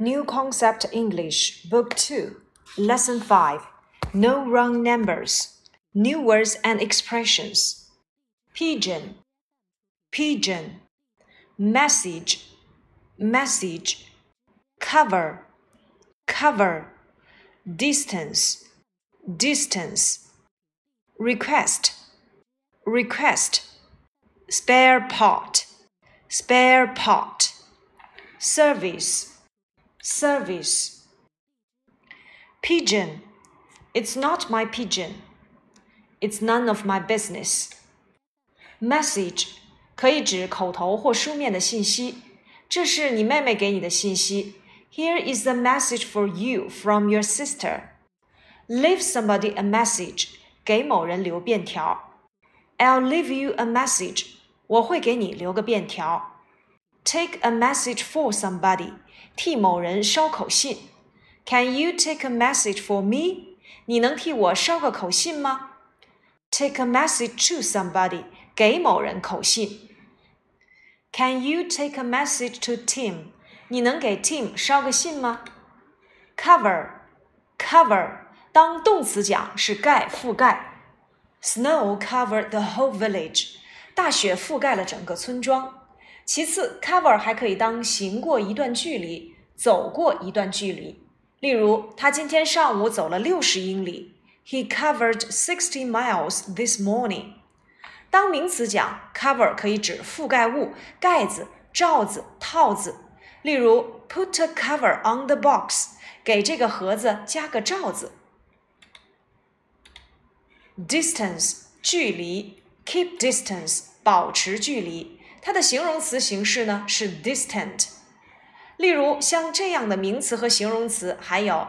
New Concept English, Book 2, Lesson 5, No Wrong Numbers, New Words and Expressions. Pigeon, pigeon. Message, message. Cover, cover. Distance, distance. Request, request. Spare part, spare part. Service, service. Pigeon, it's not my pigeon. It's none of my business. Message 可以指口头或书面的信息，这是你妹妹给你的信息。Here is a message for you from your sister. Leave somebody a message. 给某人留便条。I'll leave you a message. 我会给你留个便条。Take a message for somebody. 替某人捎口信。Can you take a message for me? 你能替我捎个口信吗？ Take a message to somebody. 给某人口信。Can you take a message to Tim? 你能给 Tim 捎个信吗？ Cover, cover. 当动词讲是盖覆盖。Snow covered the whole village. 大雪覆盖了整个村庄。其次 cover 还可以当行过一段距离，走过一段距离。例如他今天上午走了60英里。He covered 60 miles this morning. 当名词讲 cover 可以指覆盖物，盖子、罩子、套子。例如 put a cover on the box. 给这个盒子加个罩子。Distance 距离 keep distance 保持距离，它的形容词形式呢是 distant。例如像这样的名词和形容词还有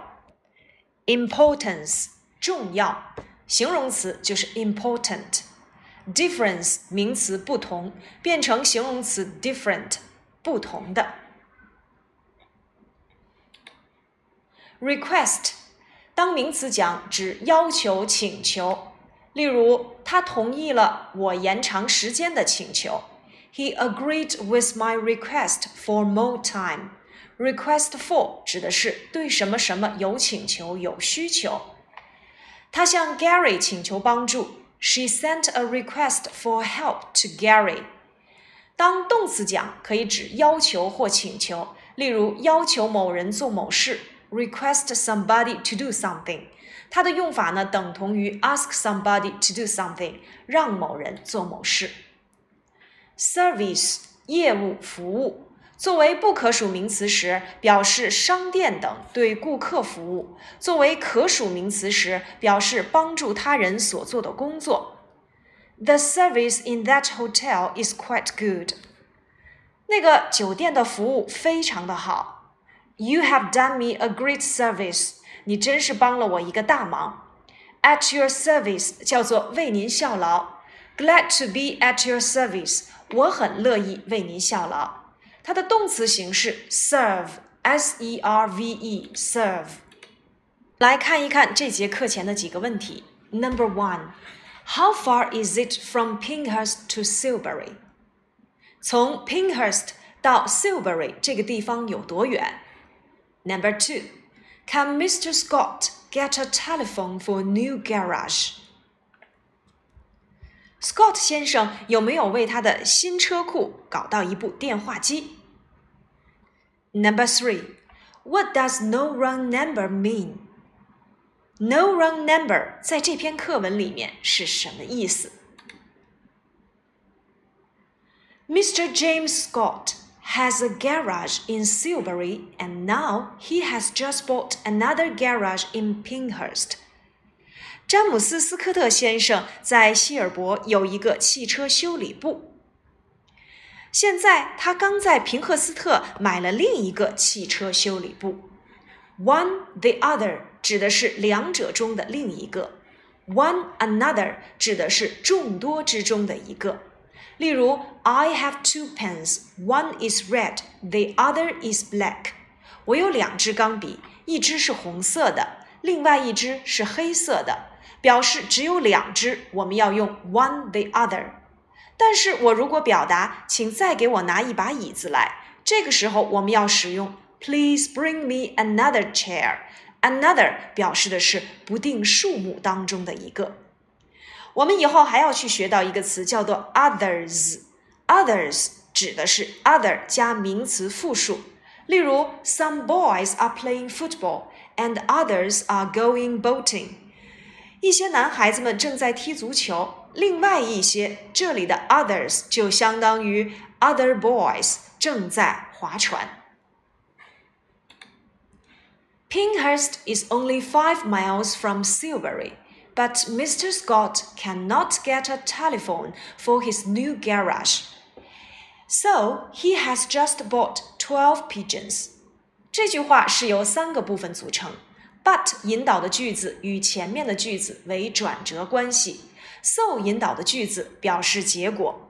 importance 重要，形容词就是 important。 difference 名词不同，变成形容词 different 不同的。Request 当名词讲指要求请求。例如他同意了我延长时间的请求。He agreed with my request for more time. Request for 指的是对什么什么有请求有需求。他向 Gary 请求帮助。She sent a request for help to Gary. 当动词讲可以指要求或请求，例如要求某人做某事。Request somebody to do something. 它的用法呢等同于 ask somebody to do something. 让某人做某事。Service 业务服务，作为不可数名词时表示商店等对顾客服务，作为可数名词时表示帮助他人所做的工作。The service in that hotel is quite good. 那个酒店的服务非常的好。You have done me a great service. 你真是帮了我一个大忙。At your service 叫做为您效劳。Glad to be at your service. 我很乐意为您效劳。它的动词形式 serve, S-E-R-V-E, serve。 来看一看这节课前的几个问题。Number 1. How far is it from Pinehurst to Silbury? 从 Pinehurst 到 Silbury 这个地方有多远？ Number 2. Can Mr. Scott get a telephone for a new garage? Scott 先生有没有为他的新车库搞到一部电话机？ Number 3. What does no wrong number mean? No wrong number 在这篇课文里面是什么意思？ Mr. James Scott has a garage in Silbury and now he has just bought another garage in Pinehurst. 詹姆斯·斯科特先生在希尔伯有一个汽车修理部。现在他刚在平赫斯特买了另一个汽车修理部。One the other 指的是两者中的另一个。One another 指的是众多之中的一个。例如 I have 2 pens, one is red, the other is black. 我有2支钢笔，一支是红色的，另外一支是黑色的。表示只有2支，我们要用 one the other。 但是我如果表达请再给我拿一把椅子来，这个时候我们要使用 Please bring me another chair。Another 表示的是不定数目当中的一个。我们以后还要去学到一个词叫做 others。others 指的是 other 加名词复数。例如 Some boys are playing football and others are going boating。一些男孩子们正在踢足球，另外一些，这里的 others 就相当于 other boys 正在划船。Pinehurst is only 5 miles from Silbury, but Mr. Scott cannot get a telephone for his new garage. So he has just bought 12 pigeons. 这句话是由3个部分组成， but 引导的句子与前面的句子为转折关系， so 引导的句子表示结果。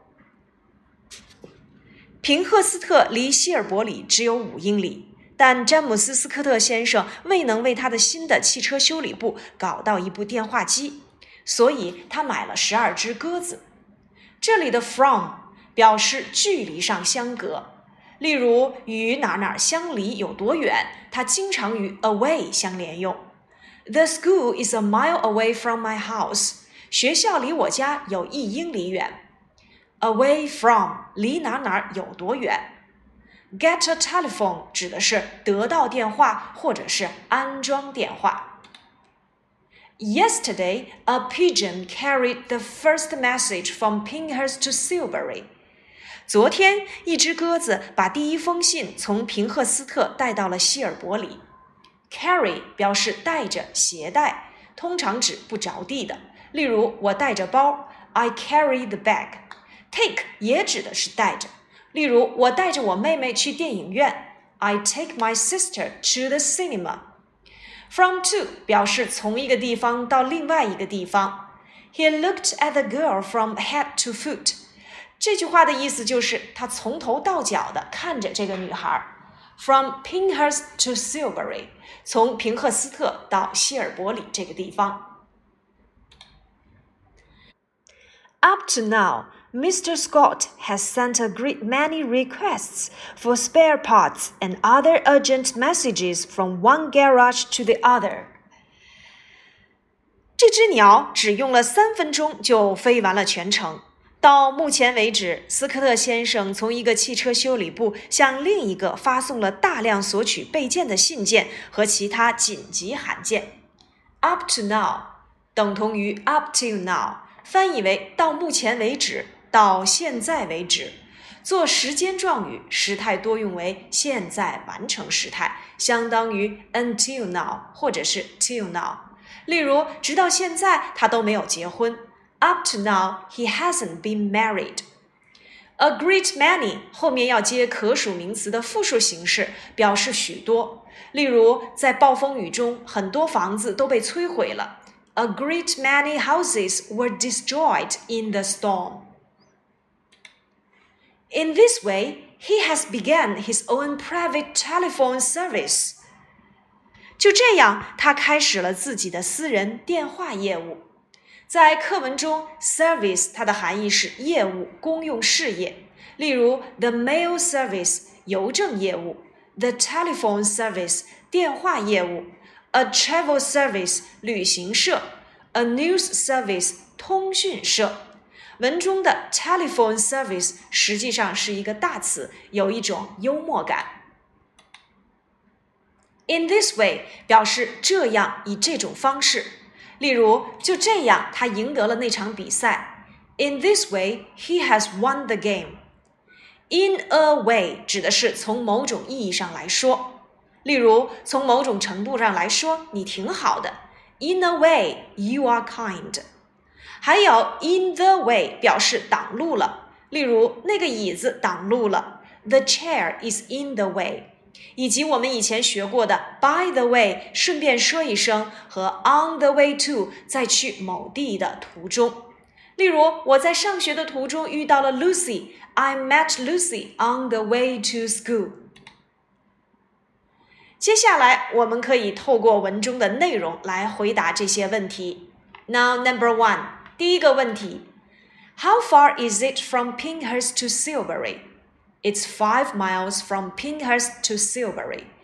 平赫斯特离希尔伯里只有5英里。但詹姆斯·斯科特先生未能为他的新的汽车修理部搞到一部电话机，所以他买了12只鸽子。这里的 from 表示距离上相隔，例如与哪哪相离有多远，它经常与 away 相连用。The school is a mile away from my house. 学校离我家有1英里远。Away from 离哪哪有多远。Get a telephone 指的是得到电话或者是安装电话。Yesterday, a pigeon carried the first message from Pinehurst to Silbury. 昨天，一只鸽子把第一封信从平赫斯特带到了希尔伯里。Carry 表示带着、携带，通常指不着地的。例如，我带着包 I carry the bag。Take 也指的是带着。例如，我带着我妹妹去电影院 I take my sister to the cinema. From to 表示从一个地方到另外一个地方。He looked at the girl from head to foot. 这句话的意思就是他从头到脚的看着这个女孩。From Pinehurst to Silbury 从平赫斯特到希尔伯里这个地方。Up to now, Mr. Scott has sent a great many requests for spare parts and other urgent messages from one garage to the other. 这只鸟只用了3分钟就飞完了全程。到目前为止，斯科特先生从一个汽车修理部向另一个发送了大量索取备件的信件和其他紧急函件。Up to now 等同于 up till now， 翻译为到目前为止，到现在为止。做时间状语，时态多用为现在完成时态，相当于 until now 或者是 till now。例如，直到现在他都没有结婚。Up to now, he hasn't been married. A great many 后面要接可数名词的复数形式，表示许多。例如，在暴风雨中，很多房子都被摧毁了。A great many houses were destroyed in the storm. In this way, he has begun his own private telephone service. 就这样，他开始了自己的私人电话业务。在课文中 service 它的含义是业务、公用事业。例如 the mail service 邮政业务， the telephone service 电话业务， a travel service 旅行社， a news service 通讯社。文中的 telephone service 实际上是一个大词，有一种幽默感。In this way 表示这样，以这种方式。例如，就这样，他赢得了那场比赛。In this way, he has won the game. In a way 指的是从某种意义上来说。例如，从某种程度上来说，你挺好的。In a way, you are kind. 还有 in the way 表示挡路了。例如，那个椅子挡路了。The chair is in the way.以及我们以前学过的 by the way 顺便说一声和 on the way to 在去某地的途中。例如，我在上学的途中遇到了 Lucy. I met Lucy on the way to school. 接下来我们可以透过文中的内容来回答这些问题。Now, number 1, 第一个问题 How far is it from Pinehurst to Silbury?It's 5 miles from Pinehurst to Silbury.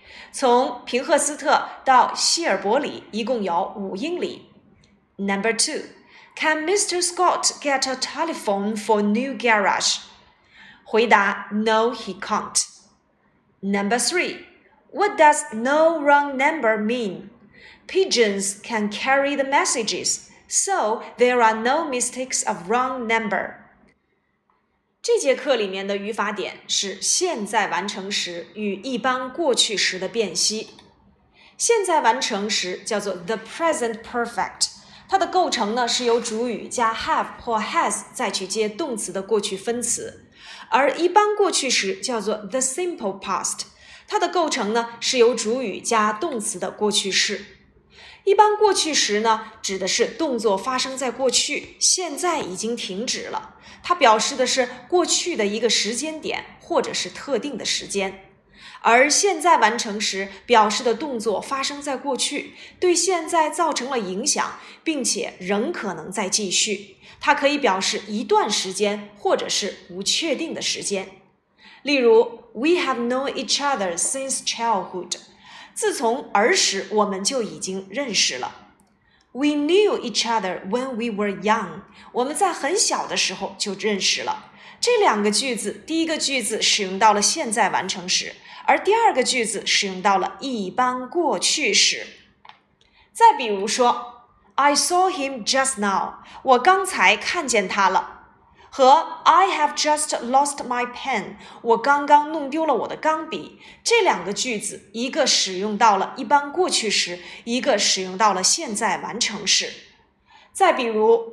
从平赫斯特到希尔伯里一共有5英里。Number 2. Can Mr. Scott get a telephone for new garage? 回答 No, he can't. Number 3. What does no wrong number mean? Pigeons can carry the messages, so there are no mistakes of wrong number. 这节课里面的语法点是现在完成时与一般过去时的辨析。现在完成时叫做 the present perfect， 它的构成呢是由主语加 have 或 has 再去接动词的过去分词，而一般过去时叫做 the simple past， 它的构成呢是由主语加动词的过去式。一般过去时呢，指的是动作发生在过去，现在已经停止了，它表示的是过去的一个时间点或者是特定的时间。而现在完成时表示的动作发生在过去，对现在造成了影响，并且仍可能再继续，它可以表示一段时间或者是不确定的时间。例如 We have known each other since childhood，自从儿时我们就已经认识了。We knew each other when we were young， 我们在很小的时候就认识了。这两个句子，第一个句子使用到了现在完成时，而第二个句子使用到了一般过去时。再比如说 I saw him just now， 我刚才看见他了。和 I have just lost my pen， 我刚刚弄丢了我的钢笔，这两个句子一个使用到了一般过去时，一个使用到了现在完成时。再比如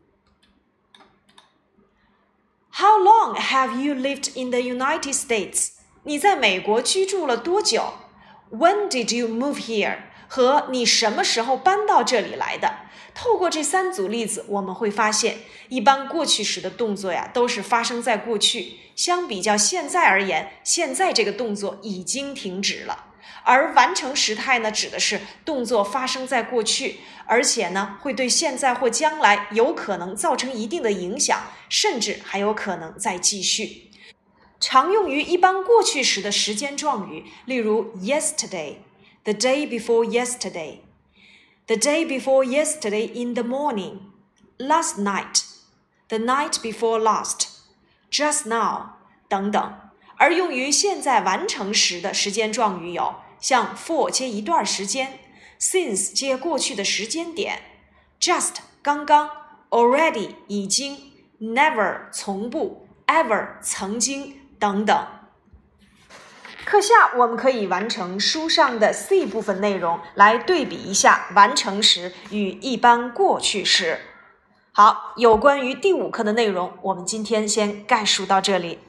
How long have you lived in the United States？ 你在美国居住了多久？ When did you move here？ 和你什么时候搬到这里来的？透过这3组例子，我们会发现一般过去时的动作呀，都是发生在过去，相比较现在而言，现在这个动作已经停止了。而完成时态呢，指的是动作发生在过去，而且呢，会对现在或将来有可能造成一定的影响，甚至还有可能再继续。常用于一般过去时的时间状语，例如 yesterday， the day before yesterday，The day before yesterday in the morning, last night, the night before last, just now 等等。而用于现在完成时的时间状语有像 for 接一段时间， since 接过去的时间点， just 刚刚， already 已经， never 从不， ever 曾经等等。课下我们可以完成书上的 C 部分内容，来对比一下完成时与一般过去时。好，有关于第5课的内容，我们今天先概述到这里。